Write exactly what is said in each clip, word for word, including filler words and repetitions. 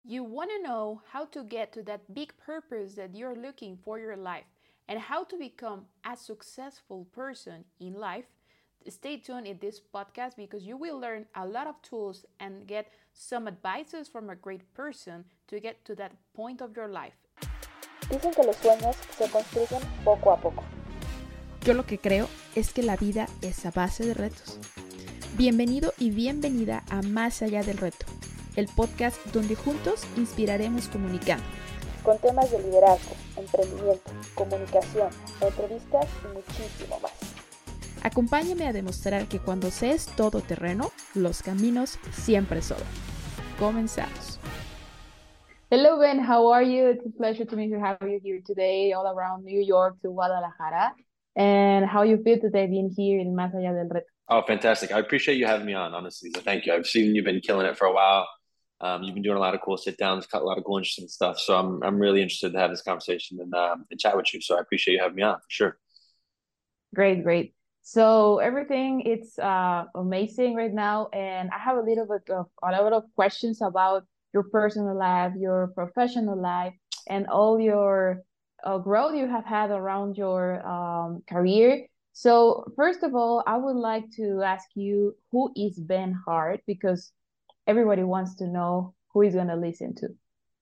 You want to know how to get to that big purpose that you're looking for your life and how to become a successful person in life. Stay tuned in this podcast because you will learn a lot of tools and get some advices from a great person to get to that point of your life. Dicen que los sueños se construyen poco a poco. Yo lo que creo es que la vida es a base de retos. Bienvenido y bienvenida a Más Allá del Reto, el podcast donde juntos inspiraremos comunicando. Con temas de liderazgo, emprendimiento, comunicación, entrevistas y muchísimo más. Acompáñame a demostrar que cuando se es todoterreno, los caminos siempre sobran. Comenzamos. Hello, Ben. How are you? It's a pleasure to meet you, have you here today, all around New York to Guadalajara. And how you feel today being here in Más Allá del Reto? Oh, fantastic. I appreciate you having me on, honestly. So thank you. I've seen you've been killing it for a while. Um, you've been doing a lot of cool sit downs, cut a lot of cool, interesting stuff. So I'm I'm really interested to have this conversation and, um, and chat with you. So I appreciate you having me on for sure. Great, great. So everything it's uh, amazing right now, and I have a little bit of a lot of questions about your personal life, your professional life, and all your uh, growth you have had around your um, career. So first of all, I would like to ask you, who is Ben Hart? Because everybody wants to know who is going to listen to.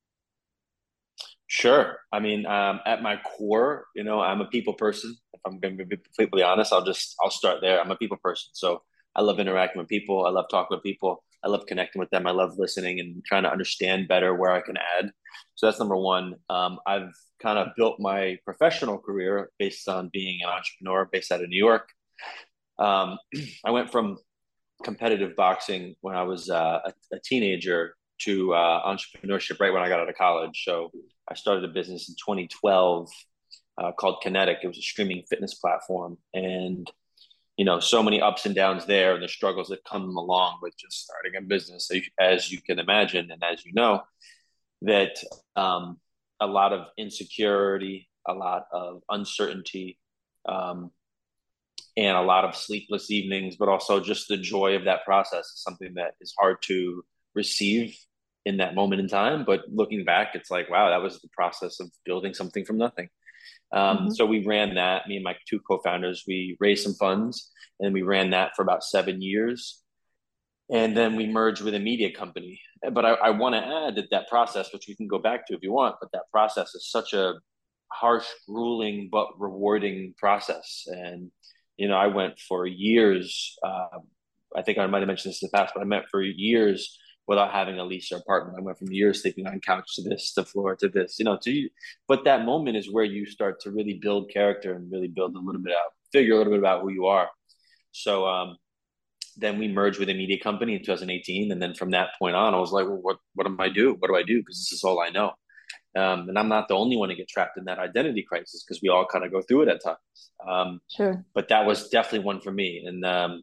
Sure. I mean, um, at my core, you know, I'm a people person. If I'm going to be completely honest, I'll just, I'll start there. I'm a people person. So I love interacting with people. I love talking with people. I love connecting with them. I love listening and trying to understand better where I can add. So that's number one. Um, I've kind of built my professional career based on being an entrepreneur based out of New York. Um, I went from competitive boxing when I was uh, a, a teenager to uh, entrepreneurship right when I got out of college. So I started a business in twenty twelve uh, called Kinetic. It was a streaming fitness platform. And, you know, so many ups and downs there and the struggles that come along with just starting a business, as you can imagine. And as you know, that um, a lot of insecurity, a lot of uncertainty, um, and a lot of sleepless evenings, but also just the joy of that process is something that is hard to receive in that moment in time. But looking back, it's like, wow, that was the process of building something from nothing. Um, mm-hmm. So we ran that, me and my two co-founders, we raised some funds and we ran that for about seven years. And then we merged with a media company. But I, I want to add that that process, which we can go back to if you want, but that process is such a harsh, grueling, but rewarding process. And, you know, I went for years, uh, I think I might have mentioned this in the past, but I went for years without having a lease or apartment. I went from years sleeping on couch to this, to floor to this, you know, to, but that moment is where you start to really build character and really build a little bit out, figure a little bit about who you are. So um, then we merged with a media company in two thousand eighteen. And then from that point on, I was like, well, what, what do I do? What do I do? Because this is all I know. Um, and I'm not the only one to get trapped in that identity crisis because we all kind of go through it at times. Um, sure. But that was definitely one for me. And um,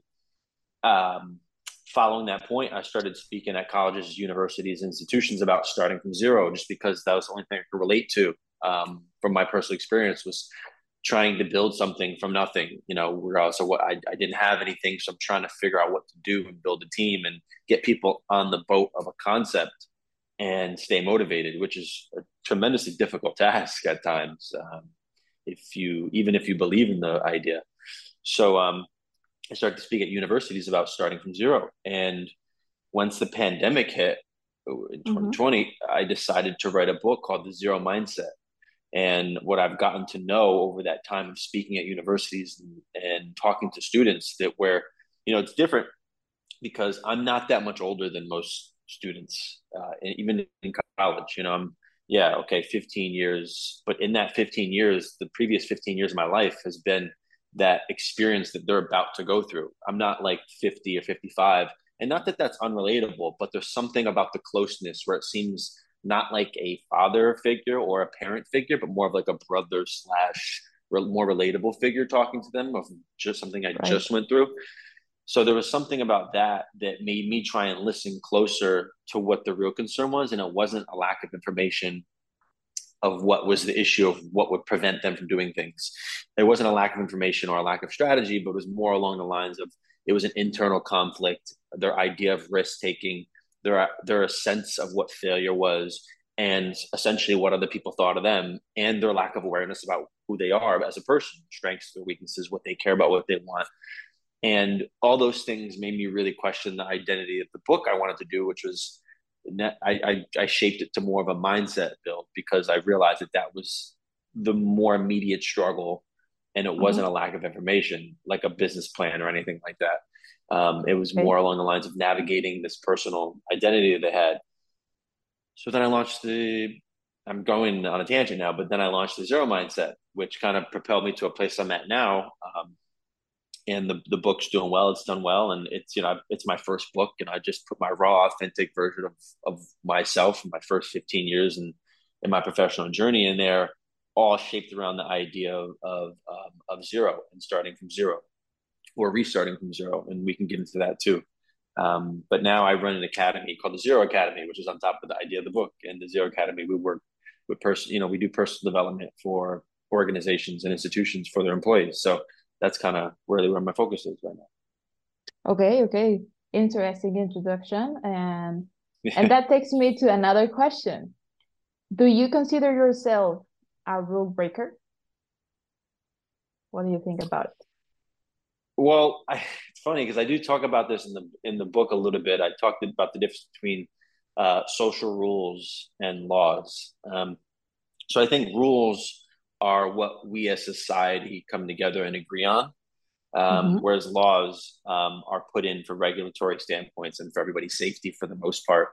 um, following that point, I started speaking at colleges, universities, institutions about starting from zero, just because that was the only thing I could relate to um, from my personal experience was trying to build something from nothing. You know, we're also what I, I didn't have anything, so I'm trying to figure out what to do and build a team and get people on the boat of a concept and stay motivated, which is a tremendously difficult task at times. Um, if you, even if you believe in the idea. So um, I started to speak at universities about starting from zero. And once the pandemic hit in twenty twenty, mm-hmm. I decided to write a book called The Zero Mindset. And what I've gotten to know over that time of speaking at universities and, and talking to students that where, you know, it's different because I'm not that much older than most students, uh, even in college, you know, I'm, yeah, okay, fifteen years. But in that fifteen years, the previous fifteen years of my life has been that experience that they're about to go through. I'm not like fifty or fifty-five. And not that that's unrelatable, but there's something about the closeness where it seems not like a father figure or a parent figure, but more of like a brother slash more relatable figure talking to them of just something I right. just went through. So there was something about that that made me try and listen closer to what the real concern was. And it wasn't a lack of information of what was the issue of what would prevent them from doing things. There wasn't a lack of information or a lack of strategy, but it was more along the lines of it was an internal conflict, their idea of risk taking, their their sense of what failure was, and essentially what other people thought of them, and their lack of awareness about who they are as a person, strengths, their weaknesses, what they care about, what they want. And all those things made me really question the identity of the book I wanted to do, which was I, I, I shaped it to more of a mindset build, because I realized that that was the more immediate struggle, and it wasn't Mm-hmm. a lack of information, like a business plan or anything like that. Um, it was Okay. more along the lines of navigating this personal identity that they had. So then I launched the, I'm going on a tangent now, but then I launched the Zero Mindset, which kind of propelled me to a place I'm at now. Um, and the, the book's doing well. It's done well. And it's, you know, it's my first book, and I just put my raw, authentic version of, of myself in my first fifteen years and in my professional journey in there, all shaped around the idea of, of, um, of zero and starting from zero, or restarting from zero. And we can get into that too. Um, but now I run an academy called the Zero Academy, which is on top of the idea of the book. And the Zero Academy, we work with person, you know, we do personal development for organizations and institutions for their employees. So that's kind of really where my focus is right now. Okay, okay. Interesting introduction. And and that takes me to another question. Do you consider yourself a rule breaker? What do you think about it? Well, I, it's funny because I do talk about this in the in the book a little bit. I talked about the difference between uh, social rules and laws. Um, so I think rules are what we as society come together and agree on, um, Mm-hmm. whereas laws um, are put in for regulatory standpoints and for everybody's safety for the most part.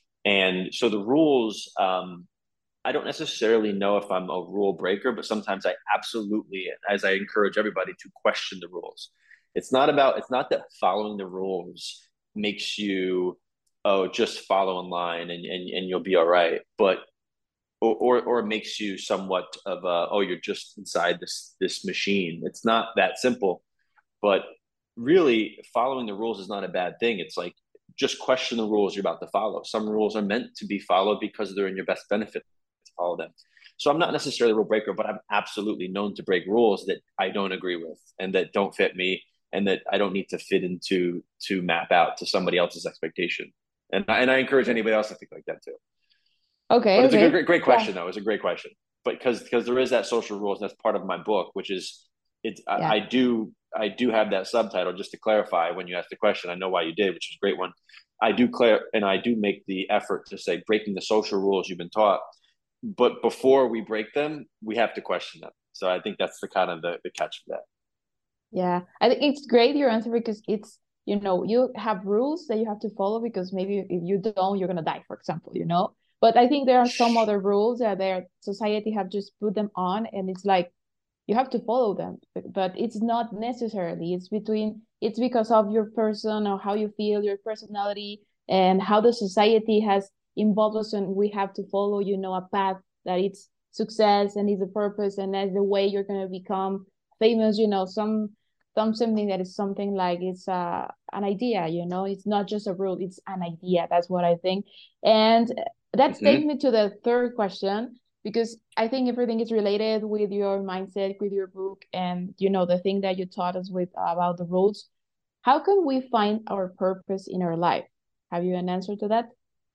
And so the rules, um, I don't necessarily know if I'm a rule breaker, but sometimes I absolutely, as I encourage everybody to question the rules. It's not about, it's not that following the rules makes you, oh, just follow in line and, and, and you'll be all right. But, or, or, or it makes you somewhat of a, oh, you're just inside this, this machine. It's not that simple, but really following the rules is not a bad thing. It's like, just question the rules you're about to follow. Some rules are meant to be followed because they're in your best benefit to follow them. So I'm not necessarily a rule breaker, but I'm absolutely known to break rules that I don't agree with and that don't fit me and that I don't need to fit into to map out to somebody else's expectation. And I, and I encourage anybody else to think like that too. Okay, But it's okay. a great, great question Yeah. though. It's a great question. But because because there is that social rules, and that's part of my book, which is it's Yeah. I, I do I do have that subtitle just to clarify when you ask the question. I know why you did, which is a great one. I do clear and I do make the effort to say breaking the social rules you've been taught. But before we break them, we have to question them. So I think that's the kind of the, the catch for that. Yeah, I think it's great your answer, because it's, you know, you have rules that you have to follow, because maybe if you don't, you're gonna die, for example, you know. But I think there are some other rules that their society have just put them on, and it's like you have to follow them, but, but it's not necessarily. It's between it's because of your person or how you feel, your personality, and how the society has involved us, and we have to follow, you know, a path that it's success and is a purpose, and that's the way you're gonna become famous, you know, some some something that is something like it's uh, an idea, you know, it's not just a rule, it's an idea. That's what I think. And that Mm-hmm. takes me to the third question, because I think everything is related with your mindset, with your book, and, you know, the thing that you taught us with about the rules. How can we find our purpose in our life? Have you an answer to that?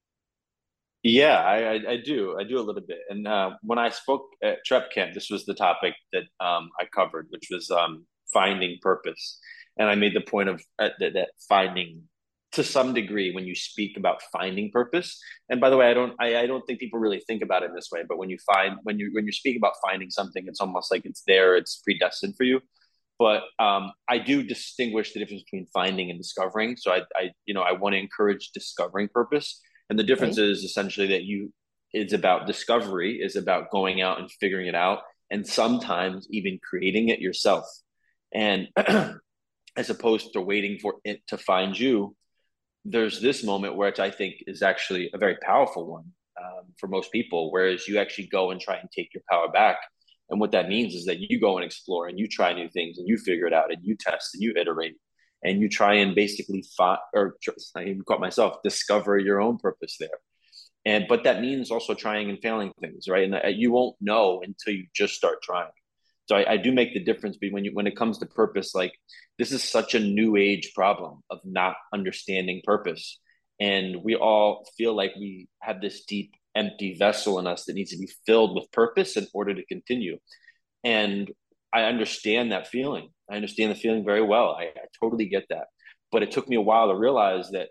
Yeah, I, I, I do. I do a little bit. And uh, when I spoke at Trep Camp, this was the topic that um, I covered, which was um, finding purpose. And I made the point of uh, that, that finding, to some degree, when you speak about finding purpose. And by the way, I don't, I, I don't think people really think about it in this way. But when you find, when you when you speak about finding something, it's almost like it's there, it's predestined for you. But um, I do distinguish the difference between finding and discovering. So I, I you know, I want to encourage discovering purpose. And the difference Okay. is essentially that you, it's about discovery, is about going out and figuring it out, and sometimes even creating it yourself. And as opposed to waiting for it to find you, there's this moment which I think is actually a very powerful one um, for most people, whereas you actually go and try and take your power back. And what that means is that you go and explore and you try new things and you figure it out and you test and you iterate and you try and basically find, or I even caught myself, discover your own purpose there. And but that means also trying and failing things, right? And you won't know until you just start trying. So I, I do make the difference between when you when it comes to purpose. Like, this is such a new age problem of not understanding purpose. And we all feel like we have this deep, empty vessel in us that needs to be filled with purpose in order to continue. And I understand that feeling. I understand the feeling very well. I, I totally get that. But it took me a while to realize that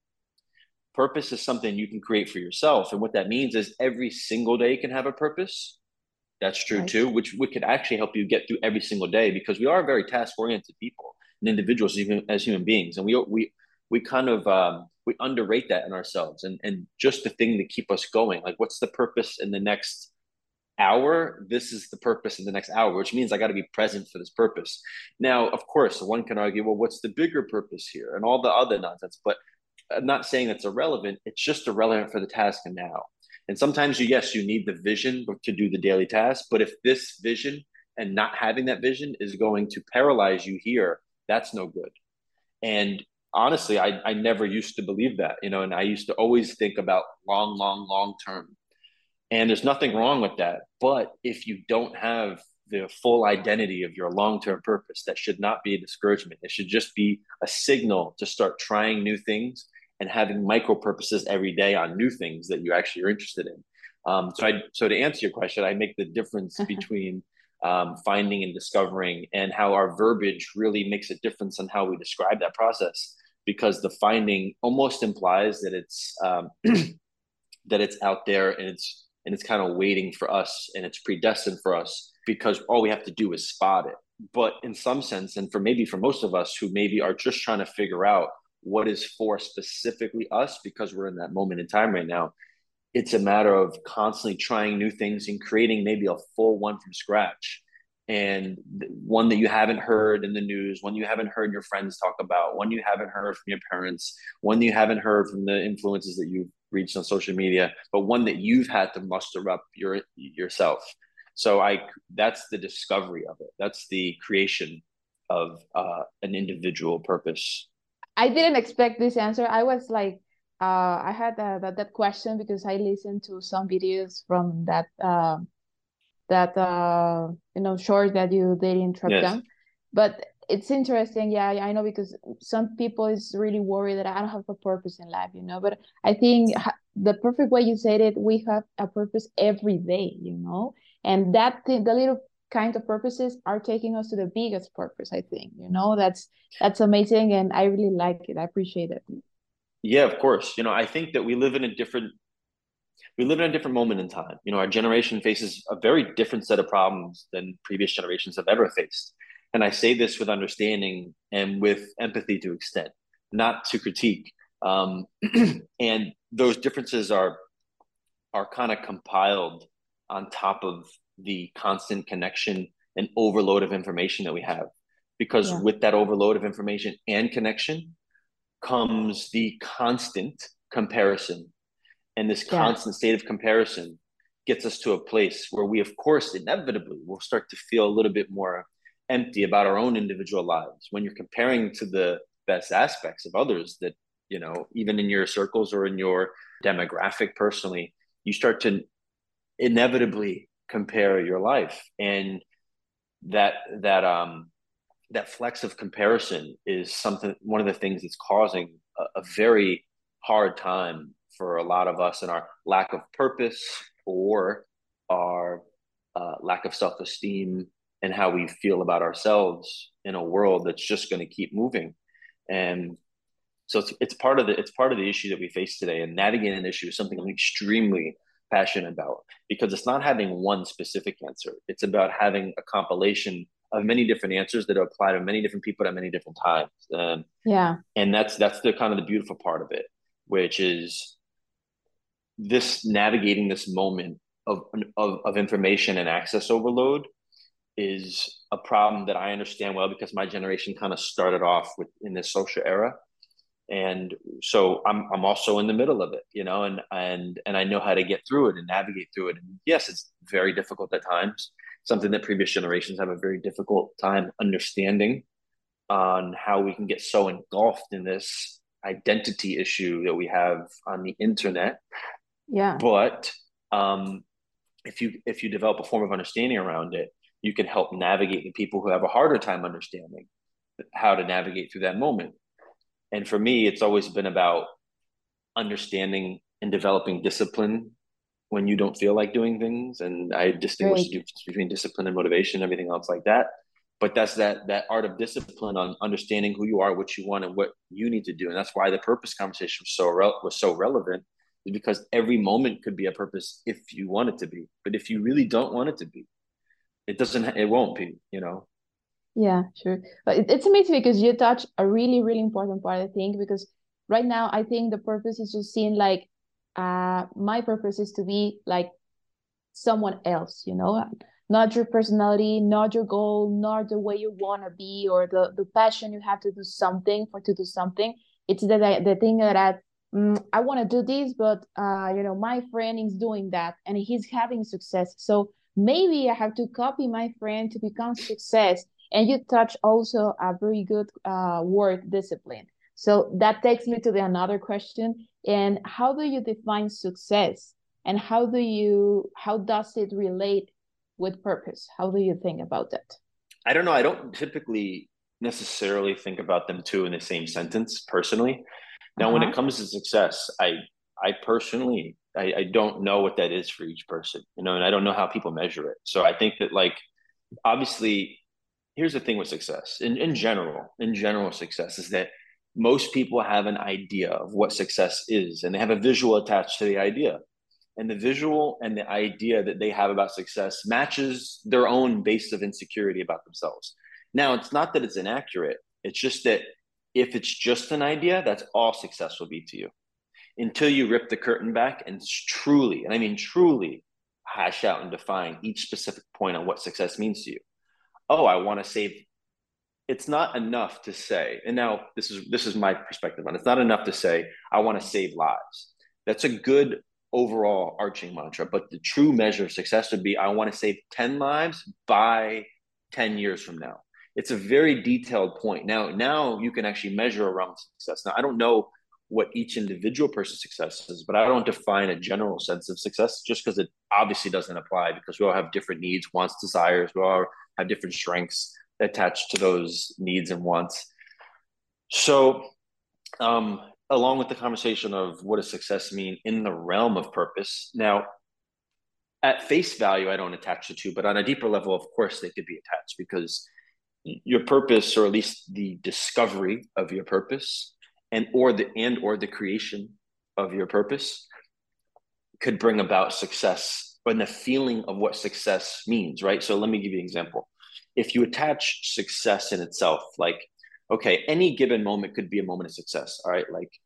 purpose is something you can create for yourself. And what that means is every single day can have a purpose. That's true Right. too, which, which could actually help you get through every single day, because we are very task-oriented people and individuals, even as human beings. And we, we, we kind of, um, we underrate that in ourselves, and, and just the thing to keep us going. Like, what's the purpose in the next hour? This is the purpose in the next hour, which means I got to be present for this purpose. Now, of course, one can argue, well, what's the bigger purpose here, and all the other nonsense, but I'm not saying that's irrelevant. It's just irrelevant for the task and now. And sometimes you, yes, you need the vision to do the daily task, but if this vision and not having that vision is going to paralyze you here, that's no good. And honestly, I, I never used to believe that, you know, and I used to always think about long, long, long term. And there's nothing wrong with that. But if you don't have the full identity of your long-term purpose, that should not be a discouragement. It should just be a signal to start trying new things and having micro purposes every day on new things that you actually are interested in. Um, so, I, so to answer your question, I make the difference between um, finding and discovering, and how our verbiage really makes a difference on how we describe that process. Because the finding almost implies that it's um, that it's out there, and it's and it's kind of waiting for us, and it's predestined for us, because all we have to do is spot it. But in some sense, and for maybe for most of us who maybe are just trying to figure out what is for specifically us, because we're in that moment in time right now, it's a matter of constantly trying new things and creating maybe a full one from scratch. And one that you haven't heard in the news, one you haven't heard your friends talk about, one you haven't heard from your parents, one you haven't heard from the influences that you've reached on social media, but one that you've had to muster up your yourself. So I, that's the discovery of it. That's the creation of uh, an individual purpose. I didn't expect this answer. I was like, uh, I had uh, that, that question because I listened to some videos from that uh, that uh, you know short that you did in Trap Yes. Down. But it's interesting, yeah, I know, because some people is really worried that I don't have a purpose in life, you know. But I think the perfect way you said it, we have a purpose every day, you know, and that thing, the little kind of purposes are taking us to the biggest purpose. I think, you know, that's that's amazing, and I really like it. I appreciate it. Yeah, of course. You know, I think that we live in a different we live in a different moment in time. You know, our generation faces a very different set of problems than previous generations have ever faced. And I say this with understanding and with empathy to extent, not to critique. Um, and those differences are are kind of compiled on top of the constant connection and overload of information that we have. Because yeah. with that overload of information and connection comes the constant comparison. And this yeah. constant state of comparison gets us to a place where we, of course, inevitably will start to feel a little bit more empty about our own individual lives. When you're comparing to the best aspects of others that, you know, even in your circles or in your demographic personally, you start to inevitably compare your life. And that, that, um, that flex of comparison is something, one of the things that's causing a, a very hard time for a lot of us, and our lack of purpose or our uh, lack of self-esteem and how we feel about ourselves in a world that's just going to keep moving. And so it's, it's part of the, it's part of the issue that we face today. And navigating an issue is something I'm extremely passionate about, because it's not having one specific answer. It's about having a compilation of many different answers that apply to many different people at many different times. Um, yeah. And that's, that's the kind of the beautiful part of it, which is this navigating this moment of, of, of information and access overload is a problem that I understand well, because my generation kind of started off with in this social era. And so I'm, I'm also in the middle of it, you know, and, and, and I know how to get through it and navigate through it. And yes, it's very difficult at times, something that previous generations have a very difficult time understanding, on how we can get so engulfed in this identity issue that we have on the internet. Yeah. But um, if you if you develop a form of understanding around it, you can help navigate the people who have a harder time understanding how to navigate through that moment. And for me, it's always been about understanding and developing discipline when you don't feel like doing things. And I distinguish Great. the difference between discipline and motivation, everything else like that. But that's that that art of discipline on understanding who you are, what you want, and what you need to do. And that's why the purpose conversation was so re- was so relevant, is because every moment could be a purpose if you want it to be. But if you really don't want it to be, it doesn't, it won't be, you know? Yeah, sure. But it, it's amazing because you touch a really, really important part, I think, because right now I think the purpose is just seeing like, uh, my purpose is to be like someone else, you know, not your personality, not your goal, not the way you want to be, or the, the passion you have to do something for to do something. It's the, the thing that I, mm, I want to do this, but, uh, you know, my friend is doing that and he's having success. So maybe I have to copy my friend to become success. And you touch also a very good uh, word, discipline. So that takes me to the another question. And how do you define success? And how do you how does it relate with purpose? How do you think about that? I don't know. I don't typically necessarily think about them two in the same sentence personally. Now, when it Uh-huh. comes to success, I I personally I, I don't know what that is for each person, you know, and I don't know how people measure it. So I think that like obviously, here's the thing with success in, in general, in general success is that most people have an idea of what success is and they have a visual attached to the idea. And the visual and the idea that they have about success matches their own base of insecurity about themselves. Now, it's not that it's inaccurate. It's just that if it's just an idea, that's all success will be to you until you rip the curtain back and truly, and I mean truly, hash out and define each specific point on what success means to you. Oh, I want to save. It's not enough to say, and now this is this is my perspective on it. It's not enough to say I want to save lives. That's a good overall arching mantra, but the true measure of success would be I want to save ten lives by ten years from now. It's a very detailed point. Now, now you can actually measure around success. Now, I don't know what each individual person's success is, but I don't define a general sense of success just because it obviously doesn't apply because we all have different needs, wants, desires. We all have different strengths attached to those needs and wants. So, um, along with the conversation of what does success mean in the realm of purpose. Now, at face value, I don't attach the two, but on a deeper level, of course, they could be attached because your purpose, or at least the discovery of your purpose, and or the and or the creation of your purpose, could bring about success and the feeling of what success means, right? So let me give you an example. If you attach success in itself, like, okay, any given moment could be a moment of success, all right? Like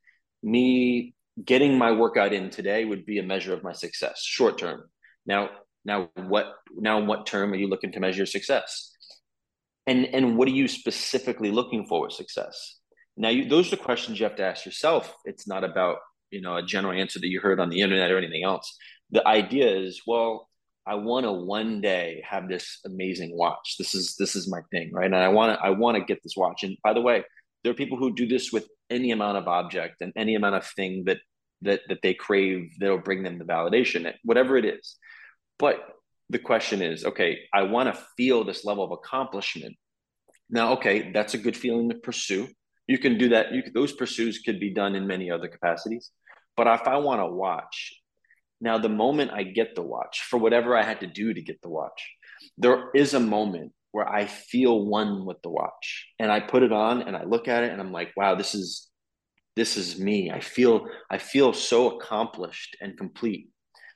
me getting my workout in today would be a measure of my success, short term. Now, now what now what term are you looking to measure success? And and what are you specifically looking for with success? Now, you, those are the questions you have to ask yourself. It's not about, you know, a general answer that you heard on the internet or anything else. The idea is, well, I want to one day have this amazing watch. This is this is my thing, right? And I want to I want to get this watch. And by the way, there are people who do this with any amount of object and any amount of thing that that that they crave that'll bring them the validation, whatever it is. But the question is, okay, I want to feel this level of accomplishment. Now, okay, that's a good feeling to pursue. You can do that. You could, those pursuits could be done in many other capacities. But if I want to watch, now the moment I get the watch, for whatever I had to do to get the watch, there is a moment where I feel one with the watch, and I put it on and I look at it and I'm like, wow, this is this is me. I feel I feel so accomplished and complete.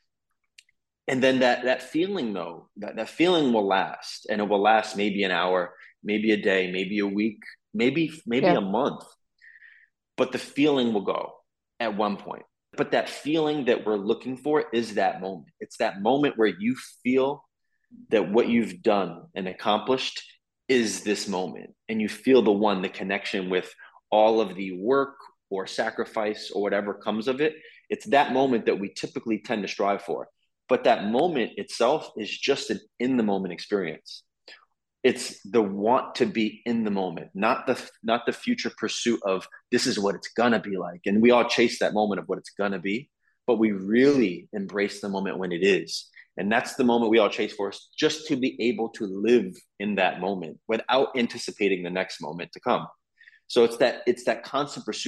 And then that that feeling though, that, that feeling will last, and it will last maybe an hour, maybe a day, maybe a week, maybe maybe Yeah. a month. But the feeling will go at one point. But that feeling that we're looking for is that moment. It's that moment where you feel that what you've done and accomplished is this moment. And you feel the one, the connection with all of the work or sacrifice or whatever comes of it. It's that moment that we typically tend to strive for. But that moment itself is just an in the moment experience. It's the want to be in the moment, not the not the future pursuit of this is what it's gonna be like. And we all chase that moment of what it's gonna be, but we really embrace the moment when it is. And that's the moment we all chase for, just to be able to live in that moment without anticipating the next moment to come. So it's that it's that constant pursuit of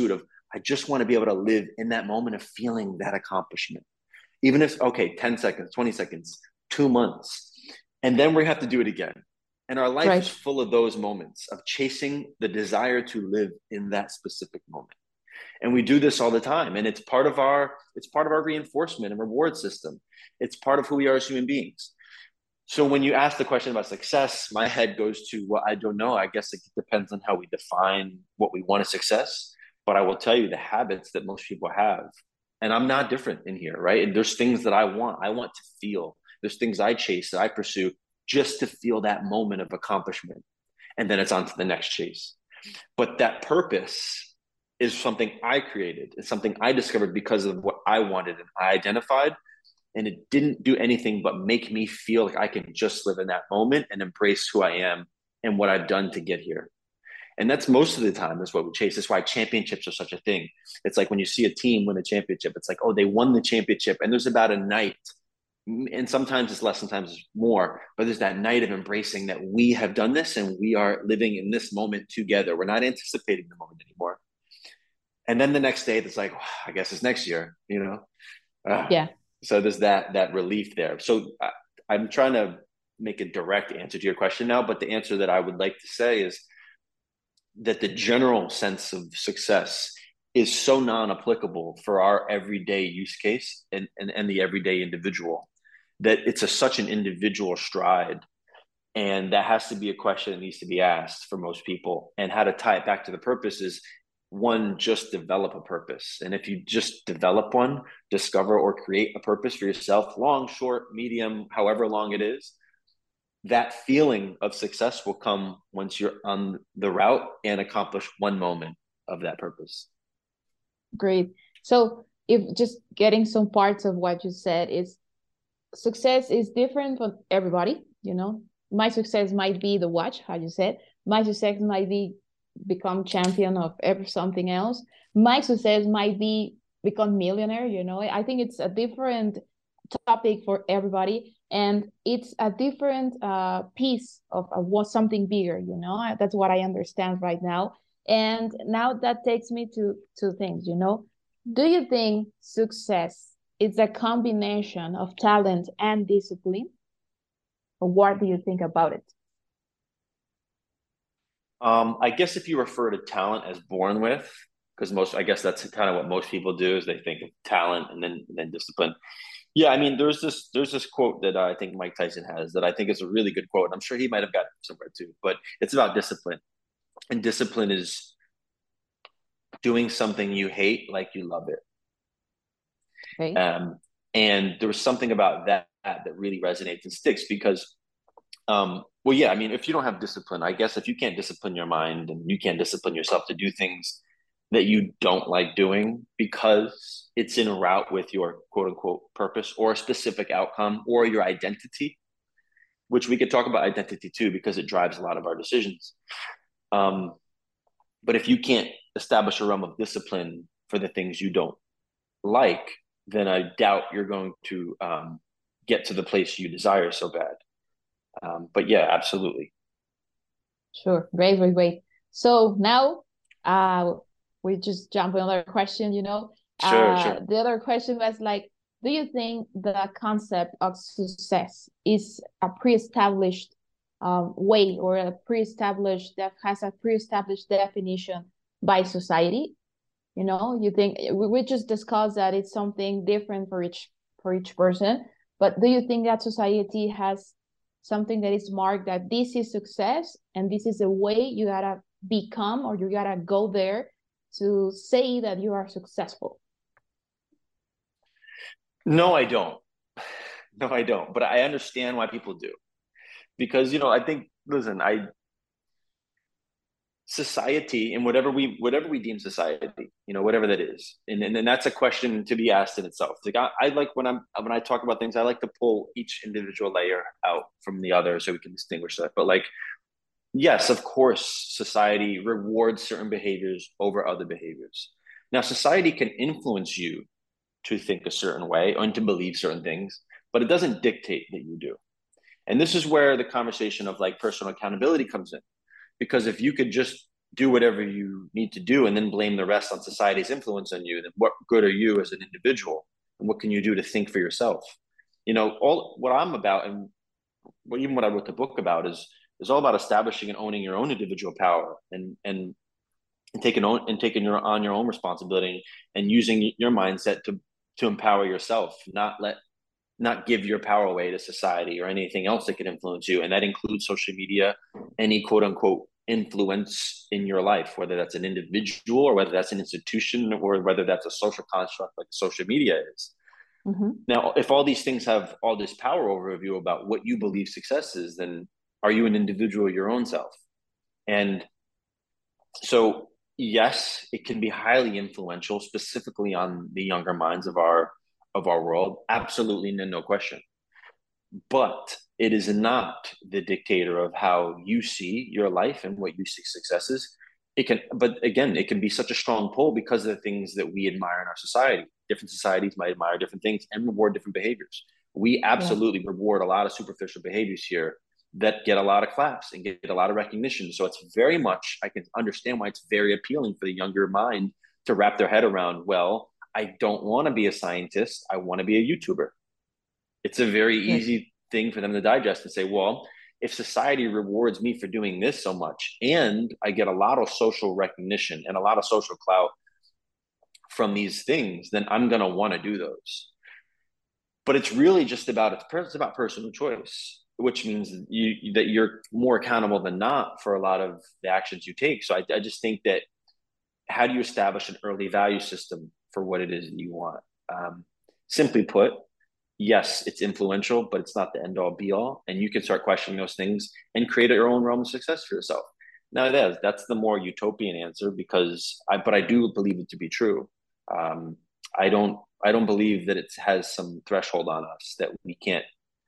I just want to be able to live in that moment of feeling that accomplishment. Even if, okay, ten seconds, twenty seconds, two months, and then we have to do it again. And our life Right. is full of those moments of chasing the desire to live in that specific moment. And we do this all the time. And it's part of our, it's part of our reinforcement and reward system. It's part of who we are as human beings. So when you ask the question about success, my head goes to, well, I don't know. I guess it depends on how we define what we want as success. But I will tell you the habits that most people have. And I'm not different in here, right? And there's things that I want. I want to feel. There's things I chase, that I pursue just to feel that moment of accomplishment. And then it's on to the next chase. But that purpose is something I created. It's something I discovered because of what I wanted and I identified. And it didn't do anything but make me feel like I can just live in that moment and embrace who I am and what I've done to get here. And that's most of the time is what we chase. That's why championships are such a thing. It's like when you see a team win a championship, it's like, oh, they won the championship. And there's about a night, and sometimes it's less, sometimes it's more, but there's that night of embracing that we have done this and we are living in this moment together. We're not anticipating the moment anymore. And then the next day, it's like, oh, I guess it's next year, you know? Uh, yeah. So there's that, that relief there. So I, I'm trying to make a direct answer to your question now, but the answer that I would like to say is that the general sense of success is so non-applicable for our everyday use case and, and, and the everyday individual that it's a, such an individual stride. And that has to be a question that needs to be asked for most people. And how to tie it back to the purpose is, one, just develop a purpose. And if you just develop one, discover or create a purpose for yourself, long, short, medium, however long it is, that feeling of success will come once you're on the route and accomplish one moment of that purpose. Great. So if just getting some parts of what you said is, success is different for everybody, you know. My success might be the watch, how you said. My success might be become champion of every something else. My success might be become millionaire, you know. I think it's a different topic for everybody, and it's a different uh, piece of, of what something bigger, you know. That's what I understand right now. And now that takes me to two things, you know. Do you think success is a combination of talent and discipline? Or what do you think about it? Um, I guess if you refer to talent as born with, because most, I guess that's kind of what most people do, is they think of talent and then and then discipline. Yeah, I mean, there's this there's this quote that I think Mike Tyson has that I think is a really good quote. I'm sure he might have got somewhere too, but it's about discipline. And discipline is doing something you hate like you love it. Okay. Um, and there was something about that that really resonates and sticks because, um, well, yeah, I mean, if you don't have discipline, I guess if you can't discipline your mind and you can't discipline yourself to do things that you don't like doing because it's in a route with your quote unquote purpose or a specific outcome or your identity, which we could talk about identity too, because it drives a lot of our decisions. Um, but if you can't establish a realm of discipline for the things you don't like, then I doubt you're going to um, get to the place you desire so bad. Um, but yeah, absolutely. Sure. Great, great, great. So now uh, we just jump on another question, you know. Sure, uh, sure. The other question was like, do you think the concept of success is a pre-established um, way or a pre-established, that has a pre-established definition by society? You know, you think we, we just discussed that it's something different for each for each person, but do you think that society has something that is marked that this is success and this is a way you gotta become or you gotta go there to say that you are successful? No, I don't. No, I don't. But I understand why people do. Because, you know, I think, listen, I society and whatever we whatever we deem society, you know, whatever that is, and and, and that's a question to be asked in itself. Like I, I like when I'm when I talk about things, I like to pull each individual layer out from the other so we can distinguish that. But like, yes, of course, society rewards certain behaviors over other behaviors. Now, society can influence you to think a certain way and to believe certain things, but it doesn't dictate that you do. And this is where the conversation of like personal accountability comes in. Because if you could just do whatever you need to do and then blame the rest on society's influence on you, then what good are you as an individual? And what can you do to think for yourself? You know, all what I'm about, and what, even what I wrote the book about, is is all about establishing and owning your own individual power, and and, and taking on and taking your on your own responsibility, and using your mindset to to empower yourself, not let not give your power away to society or anything else that can influence you. And that includes social media, any quote unquote influence in your life, whether that's an individual or whether that's an institution or whether that's a social construct like social media is. Mm-hmm. Now, if all these things have all this power over you about what you believe success is, then are you an individual, your own self? And so, yes, it can be highly influential, specifically on the younger minds of our of our world. Absolutely, no, no question. But it is not the dictator of how you see your life and what you see success is. It can, but again, it can be such a strong pull because of the things that we admire in our society. Different societies might admire different things and reward different behaviors. We absolutely yeah. reward a lot of superficial behaviors here that get a lot of claps and get a lot of recognition. So it's very much, I can understand why it's very appealing for the younger mind to wrap their head around, well, I don't want to be a scientist. I want to be a YouTuber. It's a very yeah. easy thing for them to digest and say, well, if society rewards me for doing this so much, and I get a lot of social recognition and a lot of social clout from these things, then I'm going to want to do those. But it's really just about, it's about personal choice, which means you, that you're more accountable than not for a lot of the actions you take. So I, I just think that, how do you establish an early value system for what it is that you want? Um, simply put, yes, it's influential, but it's not the end all be all. And you can start questioning those things and create your own realm of success for yourself. Now, that is, that's the more utopian answer, because I, but I do believe it to be true. Um, I don't, I don't believe that it has some threshold on us that we can't,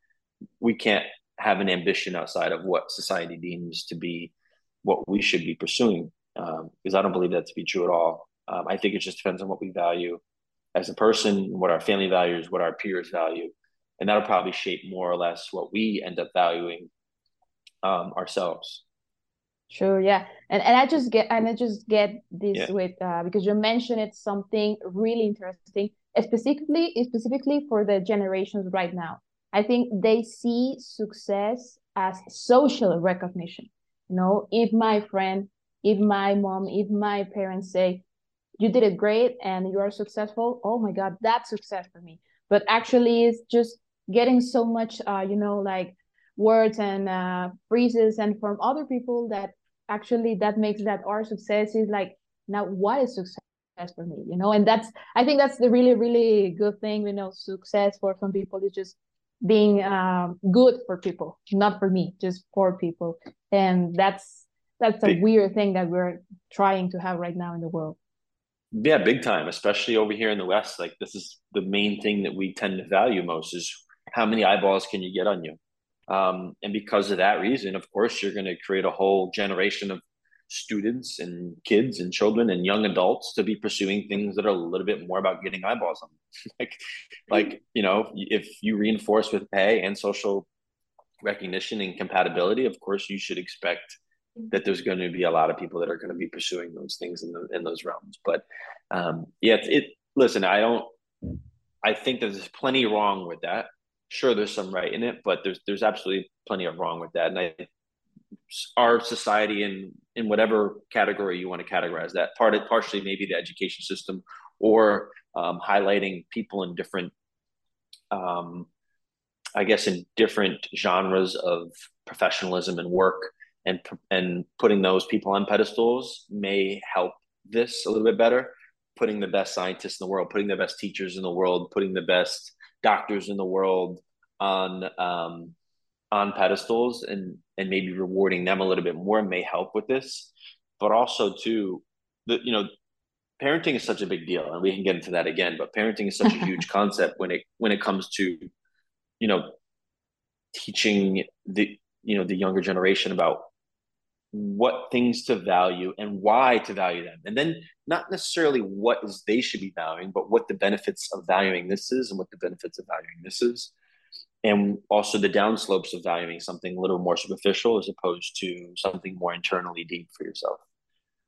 we can't have an ambition outside of what society deems to be what we should be pursuing. Um, because I don't believe that to be true at all. Um, I think it just depends on what we value as a person, what our family values, what our peers value, and that'll probably shape more or less what we end up valuing um, ourselves. Sure, yeah, and and I just get and I just get this Yeah. with uh, because you mentioned it's something really interesting, specifically specifically for the generations right now. I think they see success as social recognition. You know, if my friend, if my mom, if my parents say, you did it great and you are successful, oh my God, that's success for me. But actually it's just getting so much, uh, you know, like words and uh, phrases and from other people that actually that makes that our success is like, now what is success for me, you know? And that's, I think that's the really, really good thing, you know, success for some people is just being um, good for people, not for me, just for people. And that's, that's a Big, weird thing that we're trying to have right now in the world. Yeah, big time, especially over here in the West. Like, this is the main thing that we tend to value most, is how many eyeballs can you get on you? Um, and because of that reason, of course, you're going to create a whole generation of students and kids and children and young adults to be pursuing things that are a little bit more about getting eyeballs on them. like, like, you know, if you reinforce with pay and social recognition and compatibility, of course, you should expect that there's going to be a lot of people that are going to be pursuing those things in, the, in those realms. But um, yeah, it, it, listen, I don't, I think there's plenty wrong with that. Sure, there's some right in it, but there's, there's absolutely plenty of wrong with that. And I, our society, in, in whatever category you want to categorize that, part of, partially maybe the education system, or um, highlighting people in different, um, I guess, in different genres of professionalism and work, and and putting those people on pedestals may help this a little bit better. Putting the best scientists in the world, putting the best teachers in the world, putting the best doctors in the world on um, on pedestals, and and maybe rewarding them a little bit more may help with this. But also too, the you know, parenting is such a big deal, and we can get into that again. But parenting is such a huge concept when it when it comes to, you know, teaching the you know the younger generation about what things to value and why to value them. And then not necessarily what is they should be valuing, but what the benefits of valuing this is and what the benefits of valuing this is. And also the downslopes of valuing something a little more superficial as opposed to something more internally deep for yourself.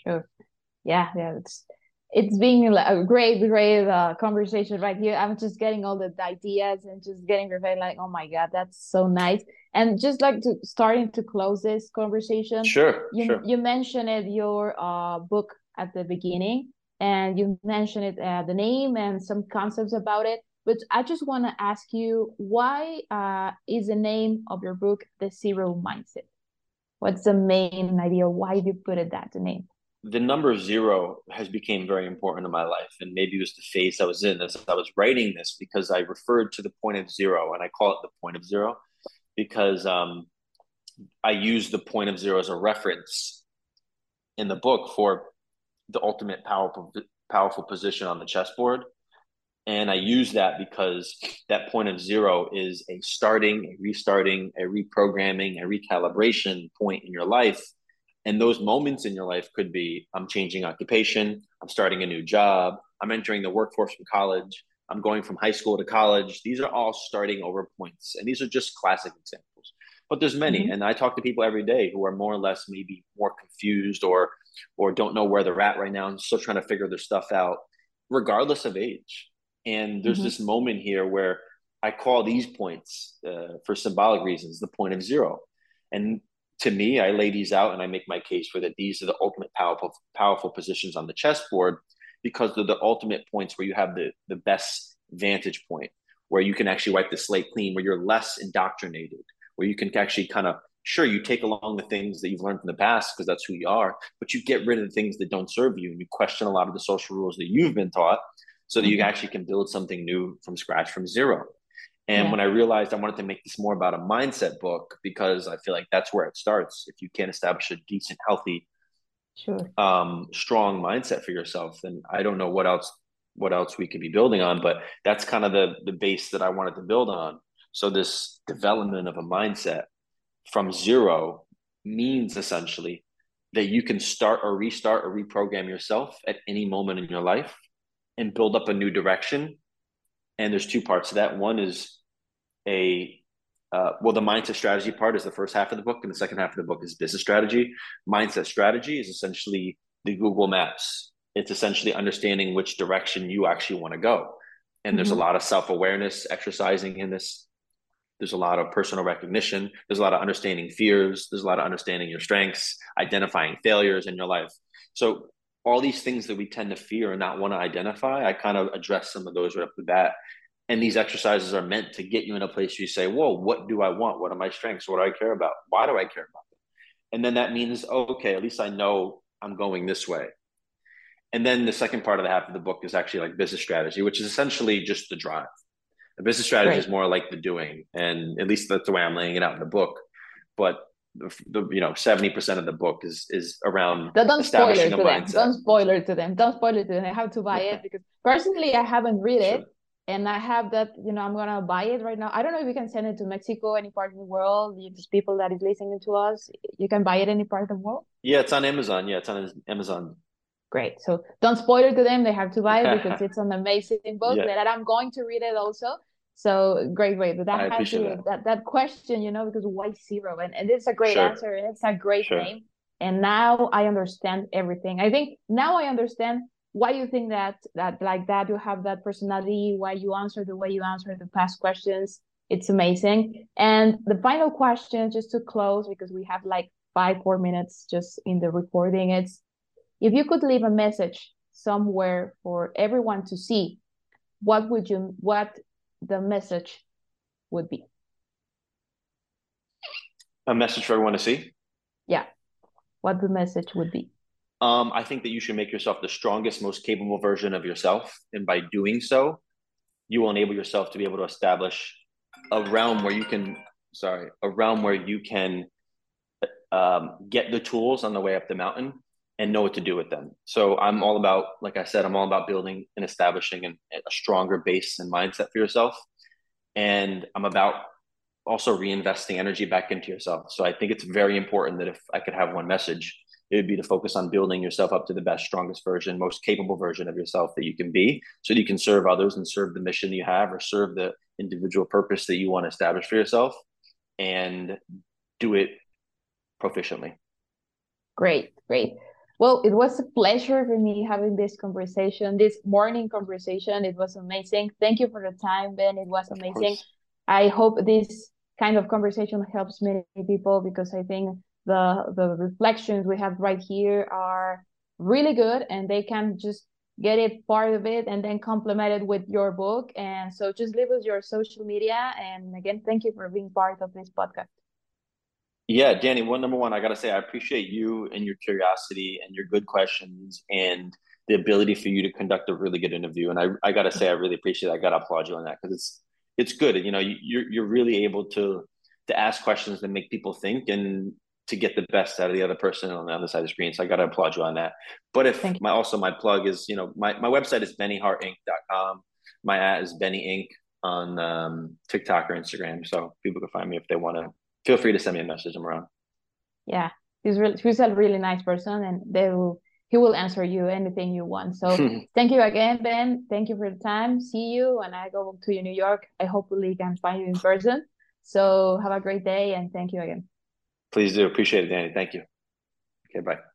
Sure. Yeah, yeah, it's it's been like a great, great uh, conversation right here. I'm just getting all the ideas and just getting prepared. Like, oh my God, that's so nice. And just like to starting to close this conversation, Sure, you sure. you mentioned it your uh book at the beginning, and you mentioned it uh, the name and some concepts about it. But I just want to ask you, why uh is the name of your book The Zero Mindset? What's the main idea? Why did you put it that the name? The number zero has became very important in my life, and maybe it was the phase I was in as I was writing this, because I referred to the point of zero, and I call it the point of zero because um, I use the point of zero as a reference in the book for the ultimate powerful powerful position on the chessboard. And I use that because that point of zero is a starting, a restarting, a reprogramming, a recalibration point in your life. And those moments in your life could be, I'm changing occupation, I'm starting a new job, I'm entering the workforce from college, I'm going from high school to college. These are all starting over points. And these are just classic examples. But there's many. Mm-hmm. And I talk to people every day who are more or less maybe more confused or or don't know where they're at right now and still trying to figure their stuff out, regardless of age. And there's Mm-hmm. this moment here where I call these points, uh, for symbolic reasons, the point of zero. And to me, I lay these out and I make my case for that these are the ultimate powerful, powerful positions on the chessboard, because they're the ultimate points where you have the, the best vantage point, where you can actually wipe the slate clean, where you're less indoctrinated, where you can actually kind of, sure, you take along the things that you've learned from the past because that's who you are, but you get rid of the things that don't serve you and you question a lot of the social rules that you've been taught so that you Mm-hmm. actually can build something new from scratch, from zero. And Yeah. when I realized I wanted to make this more about a mindset book, because I feel like that's where it starts. If you can't establish a decent, healthy, Sure. um, strong mindset for yourself, then I don't know what else what else we could be building on. But that's kind of the the base that I wanted to build on. So this development of a mindset from zero means essentially that you can start or restart or reprogram yourself at any moment in your life and build up a new direction. And there's two parts to that. One is a uh, well, the mindset strategy part is the first half of the book, and the second half of the book is business strategy. Mindset strategy is essentially the Google Maps. It's essentially understanding which direction you actually want to go. And there's a Mm-hmm. lot of self-awareness exercising in this. There's a lot of personal recognition. There's a lot of understanding fears. There's a lot of understanding your strengths, identifying failures in your life. So all these things that we tend to fear and not want to identify, I kind of address some of those right off the bat. And these exercises are meant to get you in a place where you say, whoa, what do I want? What are my strengths? What do I care about? Why do I care about them? And then that means, oh, okay, at least I know I'm going this way. And then the second part of the half of the book is actually like business strategy, which is essentially just the drive. The business strategy is Great. more like the doing. And at least that's the way I'm laying it out in the book. But the, the you know, seventy percent of the book is is around Don't, don't spoil establishing it a to them. mindset. Don't spoil it to them. Don't spoil it to them. I have to buy it because personally I haven't read Sure. it. And I have that, you know, I'm gonna buy it right now. I don't know if you can send it to Mexico, any part of the world. These people that is listening to us, you can buy it any part of the world. Yeah, it's on Amazon. Yeah, it's on Amazon. Great. So don't spoil it to them. They have to buy it because it's an amazing book Yeah, that I'm going to read it also. So great, great. But I that had appreciate to that. that that question, you know, because why zero? And, and it's a great Sure, answer and it's a great sure. name. And now I understand everything. I think now I understand why you think that that like that you have that personality, why you answer the way you answer the past questions. It's amazing. And the final question, just to close, because we have like five, four minutes just in the recording, it's if you could leave a message somewhere for everyone to see, what would you what the message would be? A message for everyone to see. Yeah, what the message would be. Um, I think that you should make yourself the strongest, most capable version of yourself. And by doing so, you will enable yourself to be able to establish a realm where you can, sorry, a realm where you can um, get the tools on the way up the mountain and know what to do with them. So I'm all about, like I said, I'm all about building and establishing an, a stronger base and mindset for yourself. And I'm about also reinvesting energy back into yourself. So I think it's very important that if I could have one message, it would be to focus on building yourself up to the best, strongest version, most capable version of yourself that you can be, so that you can serve others and serve the mission you have or serve the individual purpose that you want to establish for yourself, and do it proficiently. Great, great. Well, it was a pleasure for me having this conversation, this morning conversation. It was amazing. Thank you for the time, Ben. It was Of amazing. course. I hope this kind of conversation helps many people, because I think the the reflections we have right here are really good, and they can just get it part of it and then complement it with your book. And so just leave us your social media. And again, thank you for being part of this podcast. Yeah, Danny, one number one, I gotta say, I appreciate you and your curiosity and your good questions and the ability for you to conduct a really good interview. And I, I gotta say, I really appreciate it. I gotta applaud you on that, because it's it's good. You know, you, you're you're really able to to ask questions that make people think and to get the best out of the other person on the other side of the screen. So I gotta applaud you on that. But if Thank you. my also my plug is, you know, my, my website is benny hart inc dot com. My at is Benny Inc on um, TikTok or Instagram. So people can find me if they want to. Feel free to send me a message. I'm around. Yeah, he's really he's a really nice person, and they will he will answer you anything you want. So thank you again, Ben. Thank you for the time. See you when I go to New York. I hopefully can find you in person. So have a great day, and thank you again. Please do. Appreciate it, Danny. Thank you. Okay, bye.